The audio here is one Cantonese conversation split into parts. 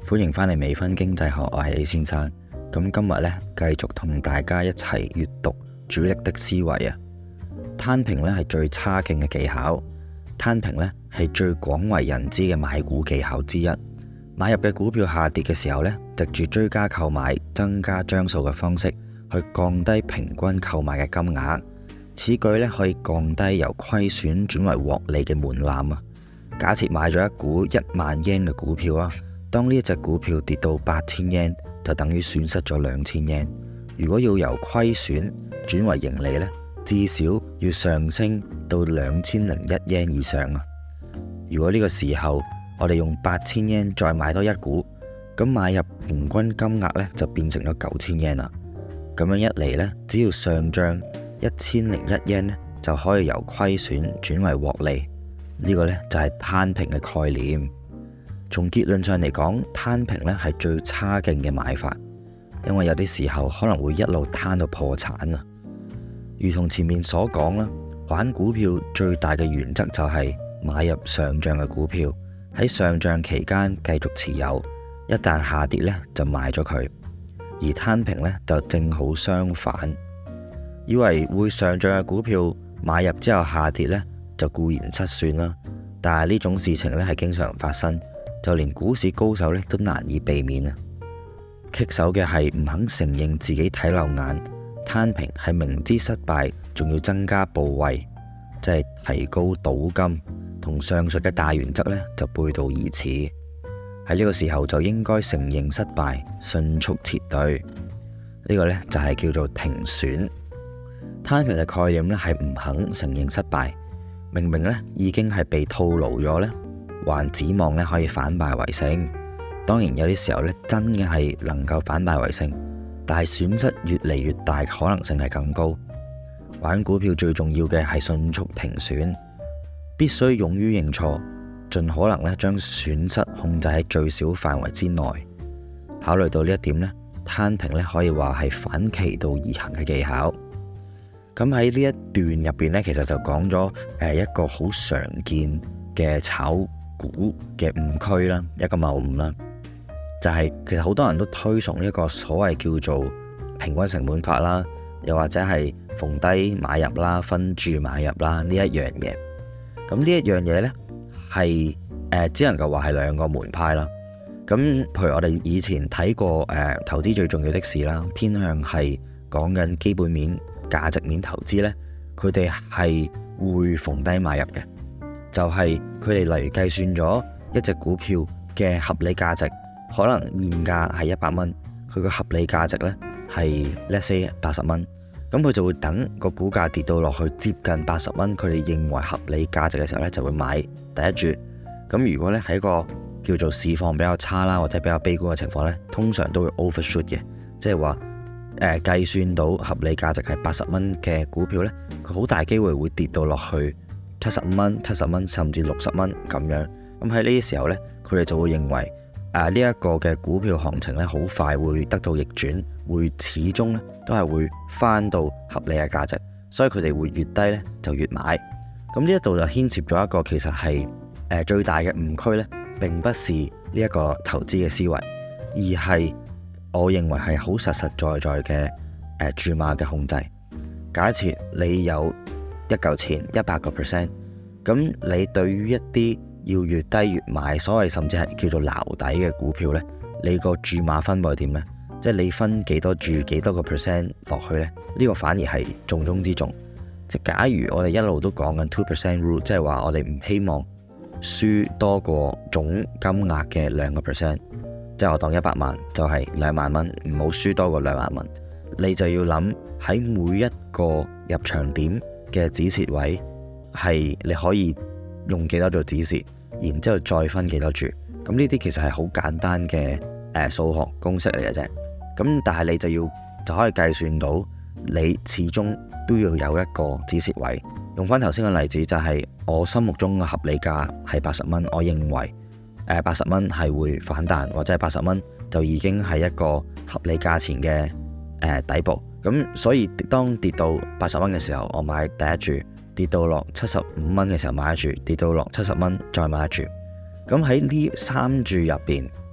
歡迎返嚟微醺經濟學，我係 A 先生。咁今日呢，繼續同大家一齊閱讀主力的思維啊。攤平呢係最差勁嘅技巧，攤平呢係最廣為人知嘅買股技巧之一。買入嘅股票下跌嘅時候呢，藉住追加購買、增加張數嘅方式去降低平均購買嘅金額。此舉呢可以降低由虧損轉為獲利嘅門檻啊。假設買咗一股10000 yen 嘅股票啊，當呢一隻股票跌到8000 yen，就等於損失咗2000 yen。如果要由虧損轉為盈利呢，至少要上升到2001 yen 以上啊。如果呢個時候我哋用8000 yen 再買多一股，咁買入平均金額呢就變成咗9000 yen 啦。咁樣一嚟呢，只要上漲1001 yen 呢，就可以由虧損轉為獲利。呢個呢就係攤平嘅概念。從結論上嚟講，攤平呢係最差勁嘅買法，因為有啲時候可能會一路攤到破產啊。如同前面所講啦，玩股票最大嘅原則就係買入上漲嘅股票，喺上漲期間繼續持有，一旦下跌呢就賣咗佢。而攤平呢就正好相反，以為會上漲嘅股票買入之後下跌呢，就固然失算啦，但係呢種事情呢係經常發生，就連股市高手呢都難以避免啊。棘手嘅係唔肯承認自己睇漏眼，攤平係明知失敗，仲要增加部位，即係提高賭金，同上述嘅大原則呢就背道而馳。喺呢個時候就應該承認失敗，迅速撤退。呢個呢就係叫做停損。攤平嘅概念呢係唔肯承認失敗。明明呢已經係被套牢咗呢，還指望呢可以反敗為勝。當然有啲時候呢真嘅係能夠反敗為勝，但係損失越嚟越大，可能性係更高。玩股票最重要嘅係迅速停損，必須勇於認錯，盡可能呢將損失控制喺最小範圍之內。考慮到呢一點呢，攤平呢可以話係反其道而行嘅技巧。咁喺呢一段入邊呢，其實就講咗一個好常見嘅炒股嘅誤區啦，一個謬誤啦，就係其實好多人都推崇一個所謂叫做平均成本法啦，又或者係逢低買入啦、分注買入啦呢一樣嘢。咁呢一樣嘢呢，係只能夠話係兩個門派啦。咁譬如我哋以前睇過投資最重要的事啦，偏向係講緊基本面、價值面投資呢，佢哋係會逢低買入嘅，就係佢哋例如計算咗一隻股票嘅合理價值，可能現價係100蚊，佢個合理價值呢係 let's say 80蚊，咁佢就會等個股價跌到落去接近80蚊，佢哋認為合理價值嘅時候呢，就會買第一注。咁如果呢喺個叫做市況比較差啦，或者比較悲觀嘅情況呢，通常都會 overshoot 嘅，即係話計算到合理價值係80蚊嘅股票呢，佢好大機會會跌到落去75蚊、70蚊甚至60蚊咁樣。咁喺呢啲時候呢，佢哋就會認為呢一個嘅股票行情呢，好快會得到逆轉，會始終呢都係會翻到合理嘅價值，所以佢哋會越低呢就越買。咁呢一度就牽涉咗一個其實係最大嘅誤區呢，並不是呢一個投資嘅思維，而係我認為係好實實在在嘅注碼嘅控制。假設你有一嚿錢100%，咁你對於一啲要越低越買，所謂甚至係叫做撈底嘅股票呢，你個注碼分佈係點呢？即係你分幾多注幾多個 percent 落去呢？呢個反而係重中之重。即假如我哋一路都講緊 2% rule， 即係話我哋唔希望輸多過總金額嘅2%。即係我當100萬就係2萬蚊，唔好輸多過2萬蚊。你就要諗喺每一個入場點嘅止蝕位係你可以用幾多做止蝕，然之後再分幾多注。咁呢啲其實係好簡單嘅數學公式嚟嘅啫。咁但係你就可以計算到你始終都要有一個止蝕位。用翻頭先嘅例子，就係我心目中嘅合理價係80蚊，我認為80蚊係會反彈，或者係80蚊就已經係一個合理價錢嘅底部。咁所以當跌到80蚊嘅時候，我買第一注；跌到落75蚊嘅時候買一注；跌到落70蚊再買一注。咁喺呢3注入邊，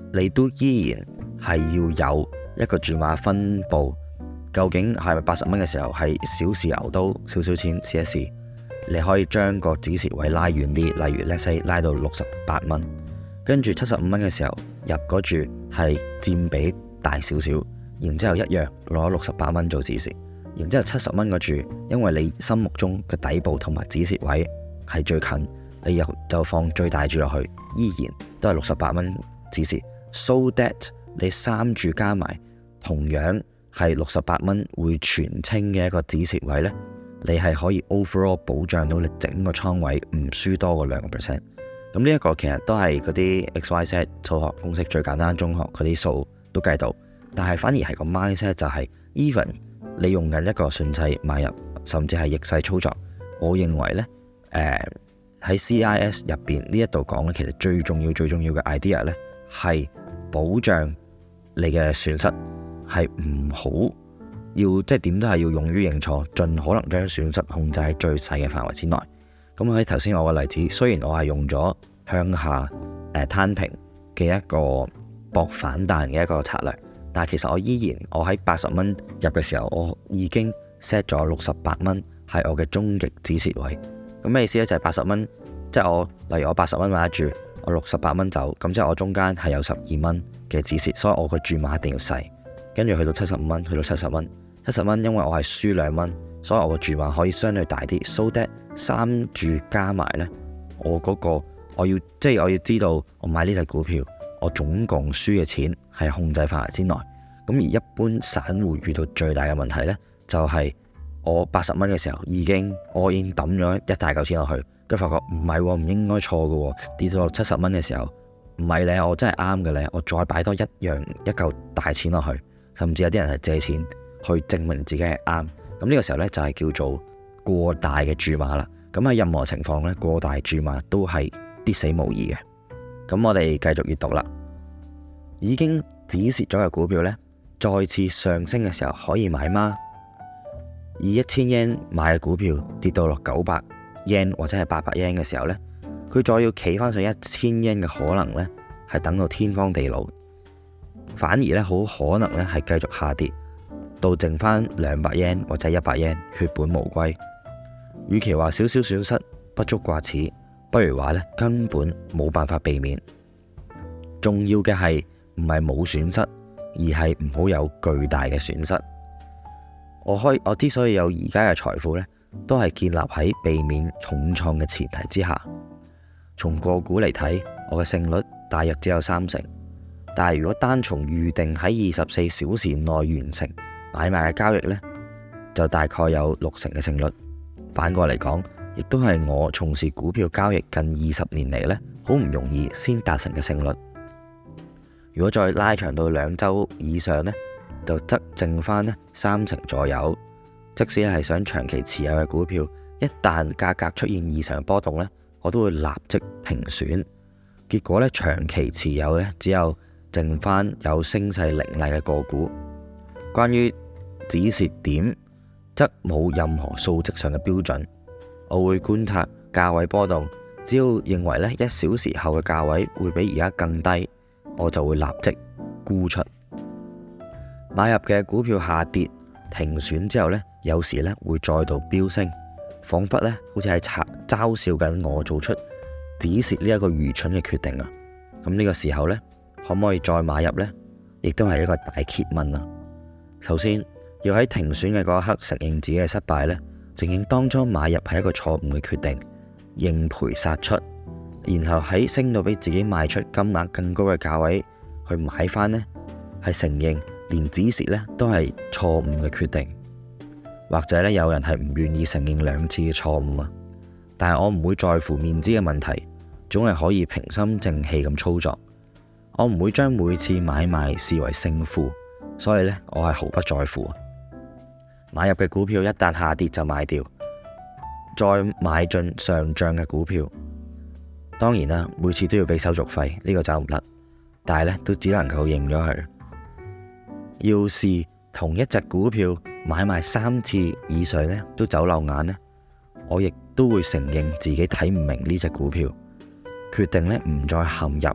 你都依然係要有一個注碼分佈，究竟係咪80蚊嘅時候係小試牛刀少少錢試一試，你可以將個止蝕位拉遠啲，例如 let's say 拉到68蚊，跟住75蚊嘅時候入嗰注係佔比大少少，然之後一樣攞68蚊做止蝕，然之後70蚊嗰注，因為你心目中嘅底部同埋止蝕位係最近，你又就放最大注落去，依然都係68蚊止蝕。So that 你3注加埋同樣係68蚊會全清嘅一個止蝕位呢，你係可以 overall 保障到你整個倉位唔輸多過2%。咁呢一個其實都係嗰啲 XYZ 數學公式最簡單，中學嗰啲數都計到，但係反而係個 mindset 就係 even 你用緊一個順勢買入，甚至係逆勢操作，我認為呢，喺 CIS 入邊呢一度講咧，其實最重要嘅 idea 呢係保障你嘅損失，係唔好要即係點都係要勇於認錯，盡可能將損失控制喺最細嘅範圍之內。咁喺頭先我個例子，雖然我係用咗向下攤平嘅一個搏反彈嘅一個策略，但係其實我喺80蚊入嘅時候，我已經 set 咗68蚊係我嘅終極止蝕位。咁咩意思呢？就係80蚊，即係例如我80蚊買一注，我68蚊走，咁即係我中間係有12蚊嘅止蝕，所以我個注碼一定要細。跟住去到75蚊，去到70蚊，70蚊因為我係輸2蚊，所以我個注碼可以相對大啲。So that 3注加埋呢，我要知道我買呢隻股票，我總共輸嘅錢係控制範圍之內。咁而一般散戶遇到最大嘅問題呢，就係我80蚊嘅時候已經抌咗一大嚿錢落去，跟住發覺唔係喎，唔應該錯嘅喎，跌到70蚊嘅時候，唔係咧，我真係啱嘅咧，我再擺多一嚿大錢落去，甚至有啲人係借錢去證明自己係啱。咁呢個時候呢，就係叫做過大嘅注碼啦。咁喺任何情況呢，過大注碼都係必死無疑嘅。咁我哋繼續閱讀啦。已經止蝕咗嘅股票呢，再次上升嘅時候可以買嗎？以1000 yen 買嘅股票跌到落900 yen 或者係800 yen 嘅時候呢，佢再要企翻上1000 yen嘅可能呢，係等到天荒地老，反而呢，好可能呢係繼續下跌到剩翻200 yen 或者100 yen， 血本無歸。與其話少少損失不足掛齒，不如話呢根本冇辦法避免。重要嘅係唔係冇損失，而係唔好有巨大嘅損失。我之所以有而家嘅財富呢，都係建立喺避免重創嘅前提之下。從個股嚟睇，我嘅勝率大約只有30%，但係如果單從預定喺24小時內完成買賣嘅交易呢，就大概有60%嘅勝率。反過嚟講，亦都係我從事股票交易近20年嚟呢，好唔容易先達成嘅勝率。如果再拉長到2週以上呢，就則剩翻呢30%左右。即使係想長期持有嘅股票，一旦價格出現異常波動呢，我都會立即停損。結果呢，長期持有呢，只有剩翻有升勢凌厲嘅個股。關於止蝕點，則冇任何數值上嘅標準。我會觀察價位波動，只要認為呢1小時後嘅價位會比而家更低，我就會立即沽出。買入嘅股票下跌停損之後呢，有時呢會再度飆升，仿佛呢好似係嘲笑緊我做出止蝕呢一個愚蠢嘅決定啊！咁呢個時候呢，可唔可以再買入呢？亦都係一個大揭問啊！首先要喺停損嘅嗰一刻承認自己嘅失敗呢，承認當初買入係一個錯誤嘅決定，認賠殺出，然後喺升到比自己賣出金額更高嘅價位去買翻呢，係承認連止蝕呢都係錯誤嘅決定。或者呢，有人係唔願意承認2次嘅錯誤啊，但係我唔會在乎面子嘅問題，總係可以平心靜氣咁操作。我唔會將每次買賣視為勝負，所以呢，我係毫不在乎。買入嘅股票一旦下跌就賣掉，再買進上漲嘅股票。當然啦，每次都要俾手續費，呢個走唔甩，但係呢，都只能夠認咗佢。要是同一隻股票買賣3次以上呢都走漏眼呢，我亦都會承認自己睇唔明呢隻股票，決定呢唔再陷入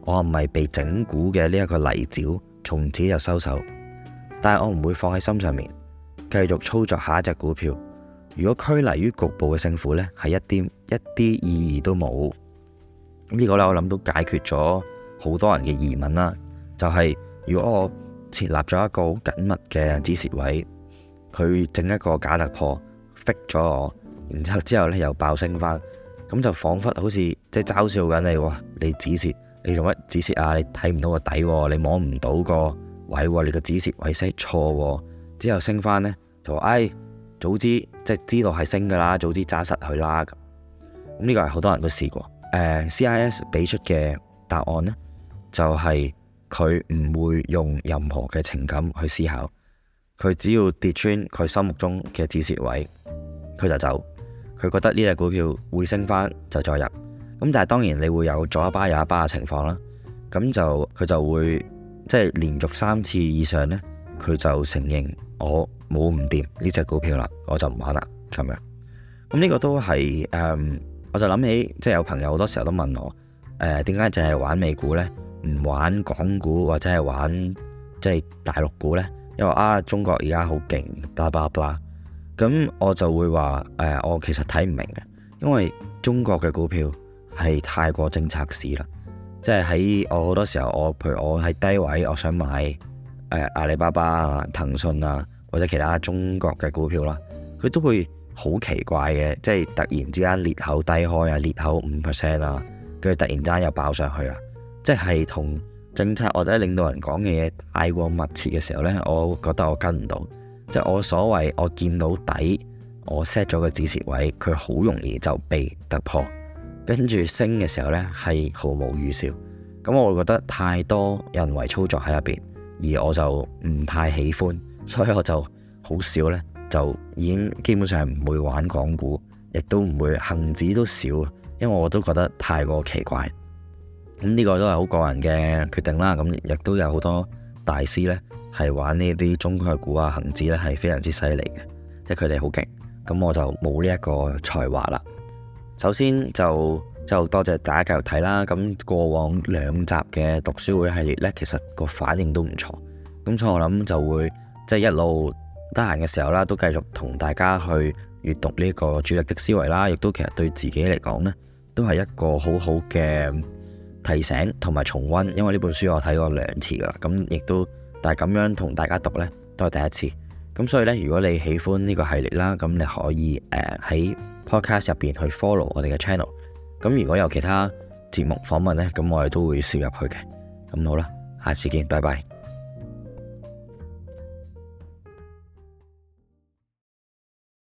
我唔係被整蠱嘅呢一個泥沼，從此就收手。但係我唔會放喺心上面，繼續操作下一隻股票。如果拘泥於局部嘅勝負呢，係一啲意義都冇。呢個呢，我諗都解決咗好多人嘅疑問啦。就係如果我設立咗一個好緊密嘅止蝕位，佢整一個假突破 fix 咗我，然之後呢又爆升翻，咁就彷彿好似即係嘲笑緊你喎。你止蝕，你用乜止蝕啊？你睇唔到個底，你摸唔到個位，你個止蝕位 set 錯，之後升翻呢，就話早知即係知道係升噶啦，早知揸實佢啦。咁呢個係好多人都試過。CIS 俾出嘅答案呢，就係佢唔會用任何嘅情感去思考，佢只要跌穿佢心目中嘅止蝕位，佢就走。佢覺得呢隻股票會升翻就再入。咁但係當然你會有左一巴右一巴嘅情況啦。咁就佢就會即係連續3次以上呢，佢就承認我冇唔掂呢隻股票啦，我就唔玩啦咁樣。咁呢個都係我就諗起即係有朋友好多時候都問我點解淨係玩美股呢？唔玩港股或者係玩即係大陸股呢？因為中國而家好勁，blah blah blah。咁我就會話我其實睇唔明嘅，因為中國嘅股票係太過政策市啦。即係喺我好多時候，譬如我喺低位，我想買阿里巴巴啊、騰訊啊或者其他中國嘅股票啦，佢都會好奇怪嘅，即係突然之間裂口低開啊，裂口5% 啊，跟住突然間又爆上去啊，即係同政策或者領導人講嘅嘢太過密切嘅時候呢，我覺得我跟唔到。即係我所謂我見到底，我 set 咗個止蝕位，佢好容易就被突破，跟住升嘅時候呢，係毫無預兆。咁我會覺得太多人為操作喺入邊，而我就唔太喜歡，所以我就好少呢，就已經基本上唔會玩港股，亦都唔會恒指都少，因為我都覺得太過奇怪。咁呢個都係好個人嘅決定啦。咁亦都有好多大師呢，係玩呢啲中概股啊、恒指呢，係非常之犀利嘅，即係佢哋好勁。咁我就冇呢一個才華啦。首先就多謝大家繼續睇啦。咁過往2集嘅讀書會系列呢，其實個反應都唔錯。咁所以我諗就會即係一路得閒嘅時候啦，都繼續同大家去閱讀呢個主力的思維啦。亦都其實對自己嚟講呢，都係一個好好嘅提醒同埋重溫。因為呢本書我睇過2次噶啦，咁亦都但係咁樣同大家讀呢，都係第一次。咁所以呢，如果你喜歡呢個系列啦，咁你可以喺 podcast 入邊去 follow 我哋嘅 channel。咁如果有其他節目訪問呢，咁我哋都會攝入去嘅。咁好啦，下次見，拜拜。